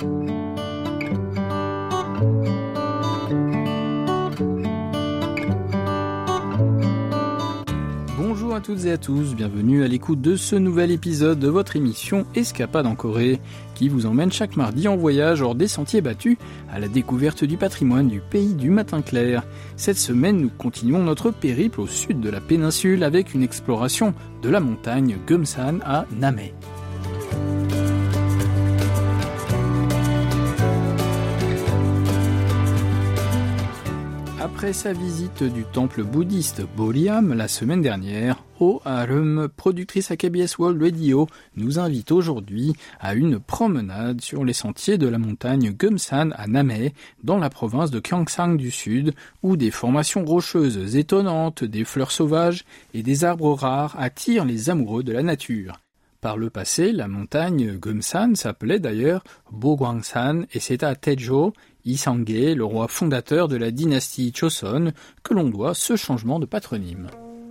Bonjour à toutes et à tous, bienvenue à l'écoute de ce nouvel épisode de votre émission Escapade en Corée, qui vous emmène chaque mardi en voyage hors des sentiers battus à la découverte du patrimoine du pays du matin clair. Cette semaine, nous continuons notre périple au sud de la péninsule avec une exploration de la montagne Geumsan à Namhae. Après sa visite du temple bouddhiste Boriam la semaine dernière, Oh Arum, productrice à KBS World Radio, nous invite aujourd'hui à une promenade sur les sentiers de la montagne Geumsan à Namhae, dans la province de Gyeongsang du Sud, où des formations rocheuses étonnantes, des fleurs sauvages et des arbres rares attirent les amoureux de la nature. Par le passé, la montagne Geumsan s'appelait d'ailleurs Bogwangsan et c'est à Taejo, Isangye, le roi fondateur de la dynastie Joseon, que l'on doit ce changement de patronyme.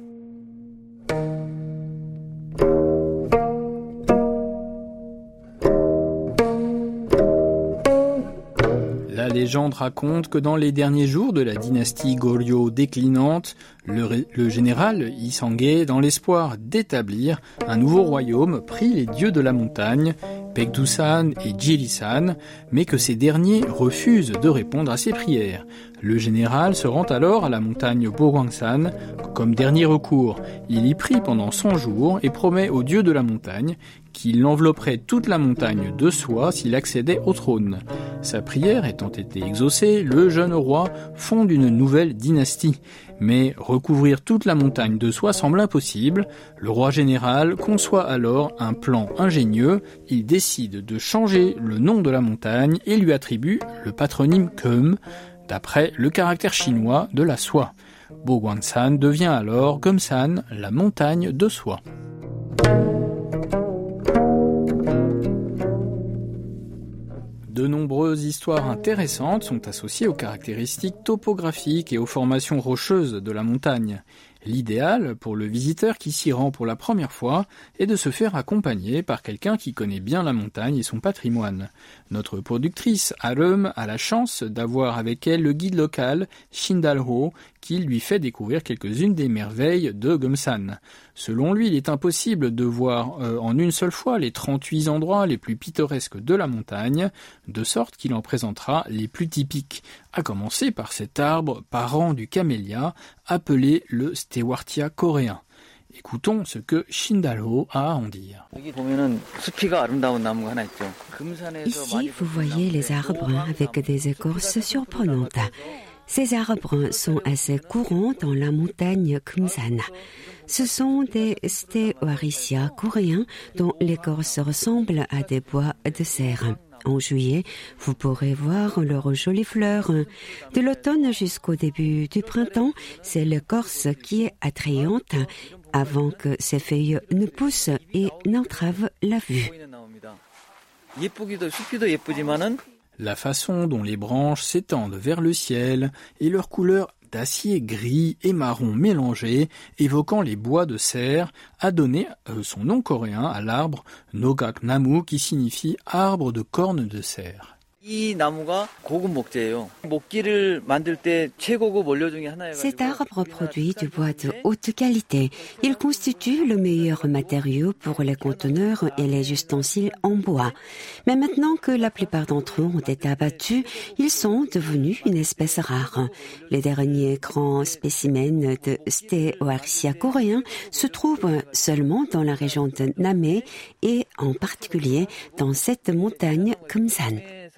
La légende raconte que dans les derniers jours de la dynastie Goryeo déclinante, le général Isangye, dans l'espoir d'établir un nouveau royaume, prit les dieux de la montagne, Baekdusan et Jirisan, mais que ces derniers refusent de répondre à ses prières. Le général se rend alors à la montagne Bogwangsan comme dernier recours. Il y prie pendant 100 jours et promet aux dieux de la montagne qu'il envelopperait toute la montagne de soie s'il accédait au trône. Sa prière étant été exaucée, le jeune roi fonde une nouvelle dynastie. Mais recouvrir toute la montagne de soie semble impossible. Le roi général conçoit alors un plan ingénieux. Il décide de changer le nom de la montagne et lui attribue le patronyme Geum, d'après le caractère chinois de la soie. Bogwangsan devient alors Geumsan, la montagne de soie. De nombreuses histoires intéressantes sont associées aux caractéristiques topographiques et aux formations rocheuses de la montagne. L'idéal pour le visiteur qui s'y rend pour la première fois est de se faire accompagner par quelqu'un qui connaît bien la montagne et son patrimoine. Notre productrice Arum a la chance d'avoir avec elle le guide local Shin Dal-ho qui lui fait découvrir quelques-unes des merveilles de Geumsan. Selon lui, il est impossible de voir en une seule fois les 38 endroits les plus pittoresques de la montagne, de sorte qu'il en présentera les plus typiques, à commencer par cet arbre parent du camélia appelé le Stewartia coréen. Écoutons ce que Shin Dal-ho a à en dire. Ici, vous voyez les arbres avec des écorces surprenantes. Ces arbres sont assez courants dans la montagne Geumsan. Ce sont des Stewartia coréens dont l'écorce ressemble à des bois de serre. En juillet, vous pourrez voir leurs jolies fleurs. De l'automne jusqu'au début du printemps, c'est l'écorce qui est attrayante avant que ses feuilles ne poussent et n'entravent la vue. La façon dont les branches s'étendent vers le ciel et leur couleur d'acier gris et marron mélangés, évoquant les bois de serre, a donné son nom coréen à l'arbre Nogaknamu qui signifie arbre de cornes de serre. Cet arbre produit du bois de haute qualité. Il constitue le meilleur matériau pour les conteneurs et les ustensiles en bois. Mais maintenant que la plupart d'entre eux ont été abattus, ils sont devenus une espèce rare. Les derniers grands spécimens de Stewartia coréens se trouvent seulement dans la région de Namhae et en particulier dans cette montagne Geumsan.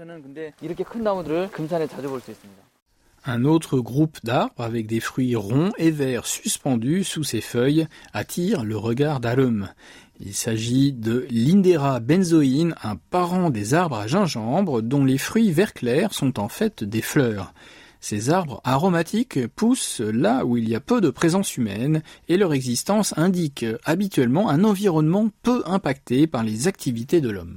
Un autre groupe d'arbres avec des fruits ronds et verts suspendus sous ses feuilles attire le regard d'Arum. Il s'agit de l'Indera benzoin, un parent des arbres à gingembre dont les fruits vert clair sont en fait des fleurs. Ces arbres aromatiques poussent là où il y a peu de présence humaine et leur existence indique habituellement un environnement peu impacté par les activités de l'homme.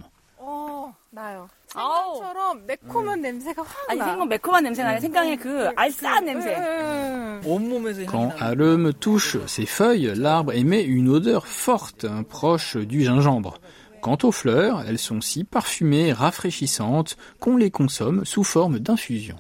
생강처럼 매콤한 냄새가 확 나. 생강 매콤한 냄새가 아니라 생강의 그 알싸한 냄새. Quand Arum touche ses feuilles, l'arbre émet une odeur forte, proche du gingembre. Quant aux fleurs, elles sont si parfumées et rafraîchissantes qu'on les consomme sous forme d'infusion.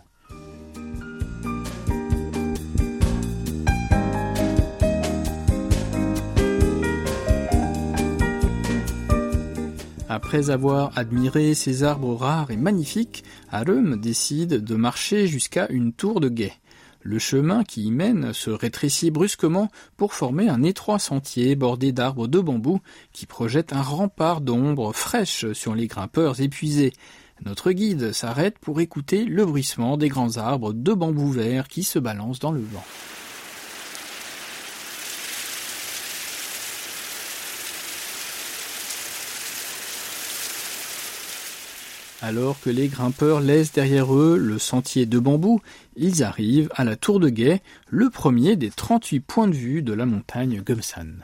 Après avoir admiré ces arbres rares et magnifiques, Arem décide de marcher jusqu'à une tour de guet. Le chemin qui y mène se rétrécit brusquement pour former un étroit sentier bordé d'arbres de bambou qui projette un rempart d'ombre fraîche sur les grimpeurs épuisés. Notre guide s'arrête pour écouter le bruissement des grands arbres de bambou vert qui se balancent dans le vent. Alors que les grimpeurs laissent derrière eux le sentier de bambou, ils arrivent à la tour de guet, le premier des 38 points de vue de la montagne Geumsan.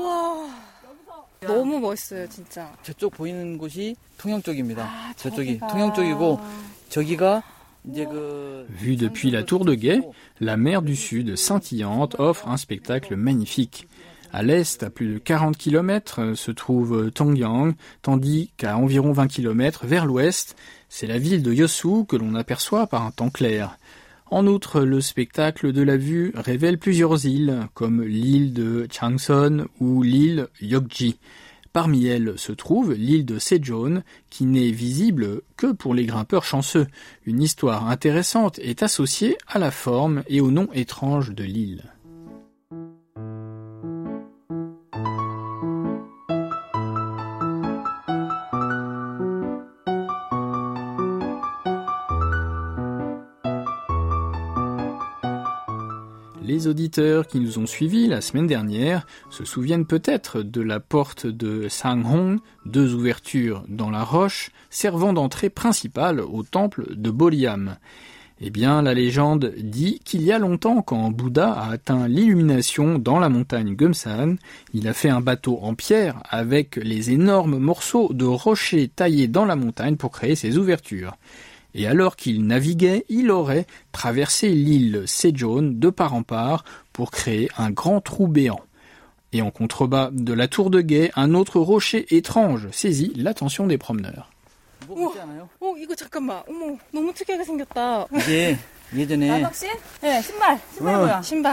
너무 멋있어요, 진짜. 저쪽 보이는 곳이 통영 쪽입니다. 저쪽이 통영 쪽이고 저기가 이제 그 Vu depuis la tour de guet, la mer du Sud scintillante offre un spectacle magnifique. À l'est, à plus de 40 km, se trouve Tongyang, tandis qu'à environ 20 km vers l'ouest, c'est la ville de Yeosu que l'on aperçoit par un temps clair. En outre, le spectacle de la vue révèle plusieurs îles, comme l'île de Changson ou l'île Yeokji. Parmi elles se trouve l'île de Sejeon, qui n'est visible que pour les grimpeurs chanceux. Une histoire intéressante est associée à la forme et au nom étrange de l'île. Les auditeurs qui nous ont suivis la semaine dernière se souviennent peut-être de la porte de Sanghong, 2 ouvertures dans la roche, servant d'entrée principale au temple de Boliam. Eh bien, la légende dit qu'il y a longtemps, quand Bouddha a atteint l'illumination dans la montagne Geumsan, il a fait un bateau en pierre avec les énormes morceaux de rochers taillés dans la montagne pour créer ces ouvertures. Et alors qu'il naviguait, il aurait traversé l'île Sejeon de part en part pour créer un grand trou béant. Et en contrebas de la tour de guet, un autre rocher étrange saisit l'attention des promeneurs. 이거 잠깐만. 어머, 너무 특이하게 생겼다. 이게 예전에 네, 신발이고요. 신발.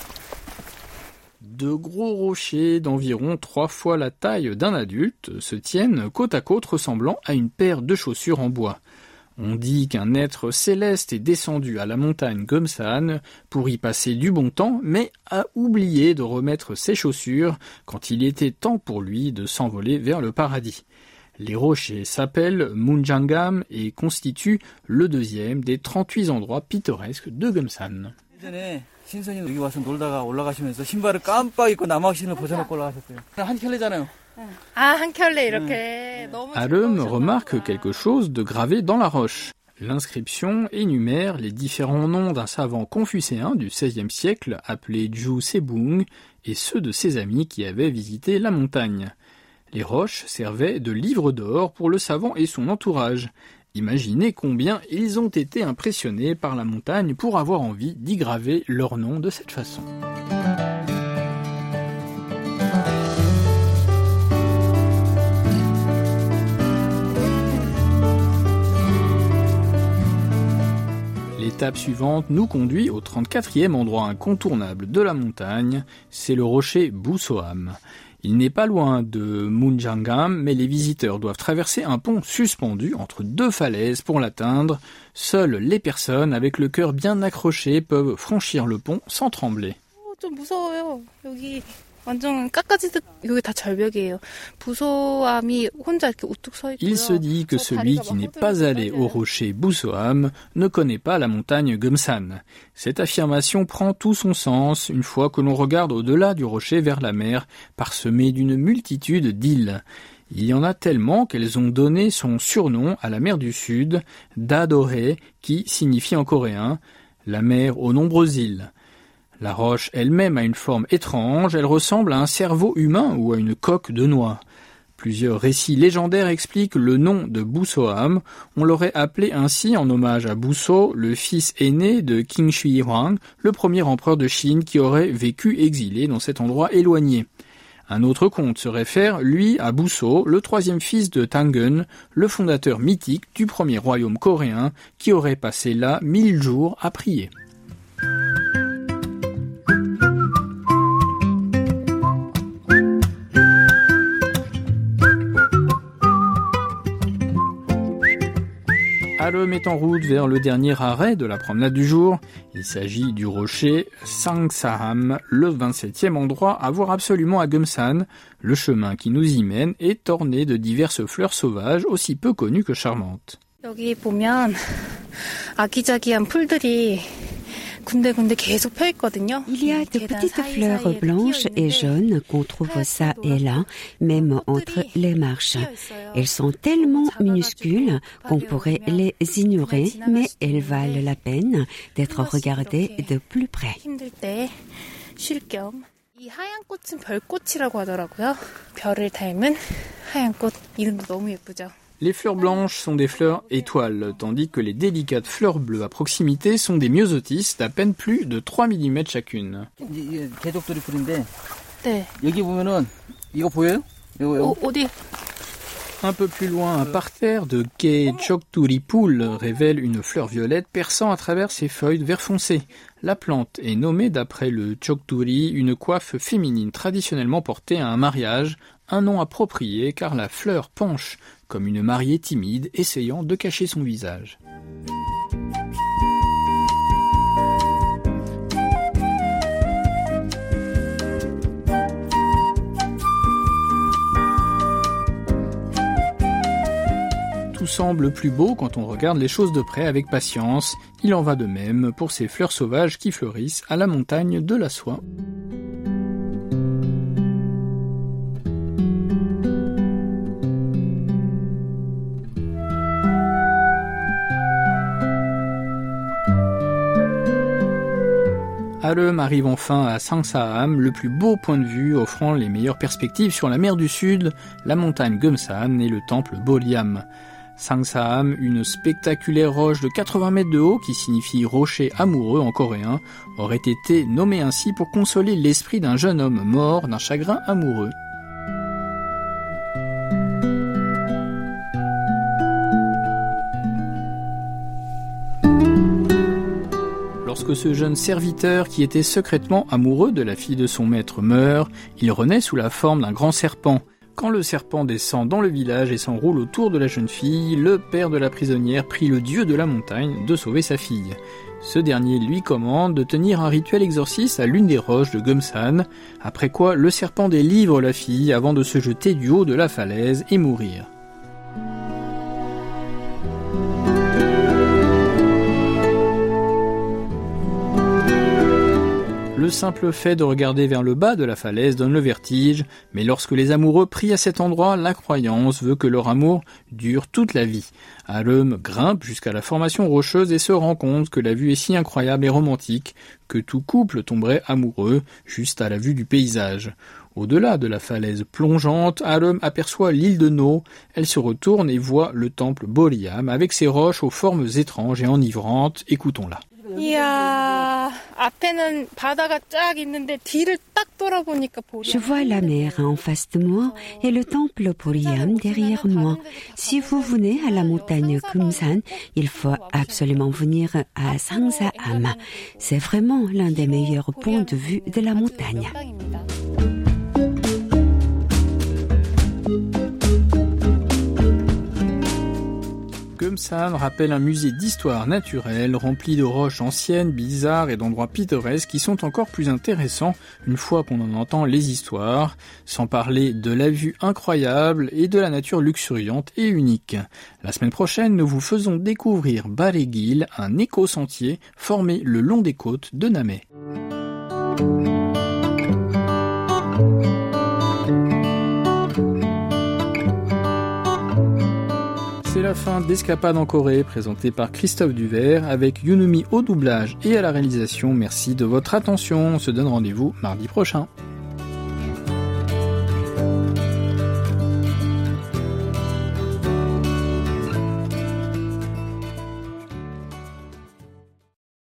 De gros rochers d'environ 3 fois la taille d'un adulte se tiennent côte à côte ressemblant à une paire de chaussures en bois. On dit qu'un être céleste est descendu à la montagne Geumsan pour y passer du bon temps, mais a oublié de remettre ses chaussures quand il était temps pour lui de s'envoler vers le paradis. Les rochers s'appellent Munjangam et constituent le 2e des 38 endroits pittoresques de Geumsan. 예전에 신선이 여기 와서 놀다가 올라가시면서 신발을 깜빡 입고 남학 신을 벗어놓고 올라가셨어요. 한 켤레잖아요. 한 켤레 이렇게. 너무 Arem remarque quelque chose de gravé dans la roche. L'inscription énumère les différents noms d'un savant confucéen du XVIe siècle appelé Ju Sebung et ceux de ses amis qui avaient visité la montagne. Les roches servaient de livre d'or pour le savant et son entourage. Imaginez combien ils ont été impressionnés par la montagne pour avoir envie d'y graver leur nom de cette façon. L'étape suivante nous conduit au 34e endroit incontournable de la montagne, c'est le rocher Busoam. Il n'est pas loin de Munjangam, mais les visiteurs doivent traverser un pont suspendu entre 2 falaises pour l'atteindre. Seules les personnes avec le cœur bien accroché peuvent franchir le pont sans trembler. 좀 무서워요. 여기 완전 깎아지듯 여기 다 절벽이에요. 부소암이 혼자 이렇게 우뚝 서 있고요. Il se dit que celui qui n'est pas allé au rocher Busoam ne connaît pas la montagne Geumsan. Cette affirmation prend tout son sens une fois que l'on regarde au-delà du rocher vers la mer, parsemée d'une multitude d'îles. Il y en a tellement qu'elles ont donné son surnom à la mer du Sud, Dadohe, qui signifie en coréen « la mer aux nombreuses îles ». La roche elle-même a une forme étrange, elle ressemble à un cerveau humain ou à une coque de noix. Plusieurs récits légendaires expliquent le nom de Busoam. On l'aurait appelé ainsi en hommage à Buso, le fils aîné de Qing Shi Huang, le premier empereur de Chine qui aurait vécu exilé dans cet endroit éloigné. Un autre conte se réfère, lui, à Buso, le troisième fils de Tangun, le fondateur mythique du premier royaume coréen, qui aurait passé là 1000 jours à prier. Arem est en route vers le dernier arrêt de la promenade du jour. Il s'agit du rocher Sangsaham, le 27e endroit à voir absolument à Geumsan. Le chemin qui nous y mène est orné de diverses fleurs sauvages aussi peu connues que charmantes. 여기 보면 아기자기한 풀들이 군데군데 계속 펴 있거든요. Il y a de petites fleurs blanches et jaunes qu'on trouve ça et là, même entre les marches. Elles sont tellement minuscules qu'on pourrait les ignorer, mais elles valent la peine d'être regardées de plus près. 힘들 때 쉴 겸. 이 하얀 꽃은 별꽃이라고 하더라고요. 별을 닮은 하얀 꽃. 이름도 너무 예쁘죠. Les fleurs blanches sont des fleurs étoiles, tandis que les délicates fleurs bleues à proximité sont des myosotis d'à peine plus de 3 mm chacune. 개족들이 풀인데 네. 여기 보면은 이거 보여요? 이거. 어디? Un peu plus loin, un parterre de Kei Chokturipul révèle une fleur violette perçant à travers ses feuilles vert foncé. La plante est nommée d'après le Chokturi, une coiffe féminine traditionnellement portée à un mariage, un nom approprié car la fleur penche comme une mariée timide essayant de cacher son visage. Tout semble plus beau quand on regarde les choses de près avec patience. Il en va de même pour ces fleurs sauvages qui fleurissent à la montagne de la soie. Arem arrive enfin à Sangsaham, le plus beau point de vue offrant les meilleures perspectives sur la mer du Sud, la montagne Geumsan et le temple Boryam. Sangsaham, une spectaculaire roche de 80 mètres de haut qui signifie rocher amoureux en coréen, aurait été nommée ainsi pour consoler l'esprit d'un jeune homme mort d'un chagrin amoureux. Lorsque ce jeune serviteur, qui était secrètement amoureux de la fille de son maître, meurt, il renaît sous la forme d'un grand serpent. Quand le serpent descend dans le village et s'enroule autour de la jeune fille, le père de la prisonnière prie le dieu de la montagne de sauver sa fille. Ce dernier lui commande de tenir un rituel exorcisme à l'une des roches de Geumsan, après quoi le serpent délivre la fille avant de se jeter du haut de la falaise et mourir. Le simple fait de regarder vers le bas de la falaise donne le vertige, mais lorsque les amoureux prient à cet endroit, la croyance veut que leur amour dure toute la vie. Arem grimpe jusqu'à la formation rocheuse et se rend compte que la vue est si incroyable et romantique que tout couple tomberait amoureux juste à la vue du paysage. Au-delà de la falaise plongeante, Arem aperçoit l'île de No. Elle se retourne et voit le temple Boryam avec ses roches aux formes étranges et enivrantes. Écoutons-la. 이야, 앞에는 바다가 쫙 있는데 뒤를 딱 돌아보니까 Je vois la mer en face de moi et le temple Boryam derrière moi. Si vous venez à la montagne Geumsan, il faut absolument venir à Sangsaham. C'est vraiment l'un des meilleurs points de vue de la montagne. Geumsan rappelle un musée d'histoire naturelle rempli de roches anciennes, bizarres et d'endroits pittoresques qui sont encore plus intéressants une fois qu'on en entend les histoires, sans parler de la vue incroyable et de la nature luxuriante et unique. La semaine prochaine, nous vous faisons découvrir Baregil, un éco-sentier formé le long des côtes de Namé. C'est la fin d'Escapade en Corée, présentée par Christophe Duvert, avec Yunumi au doublage et à la réalisation. Merci de votre attention. On se donne rendez-vous mardi prochain.